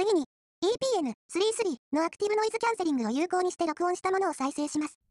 次に、EPN33 のアクティブノイズキャンセリングを有効にして録音したものを再生します。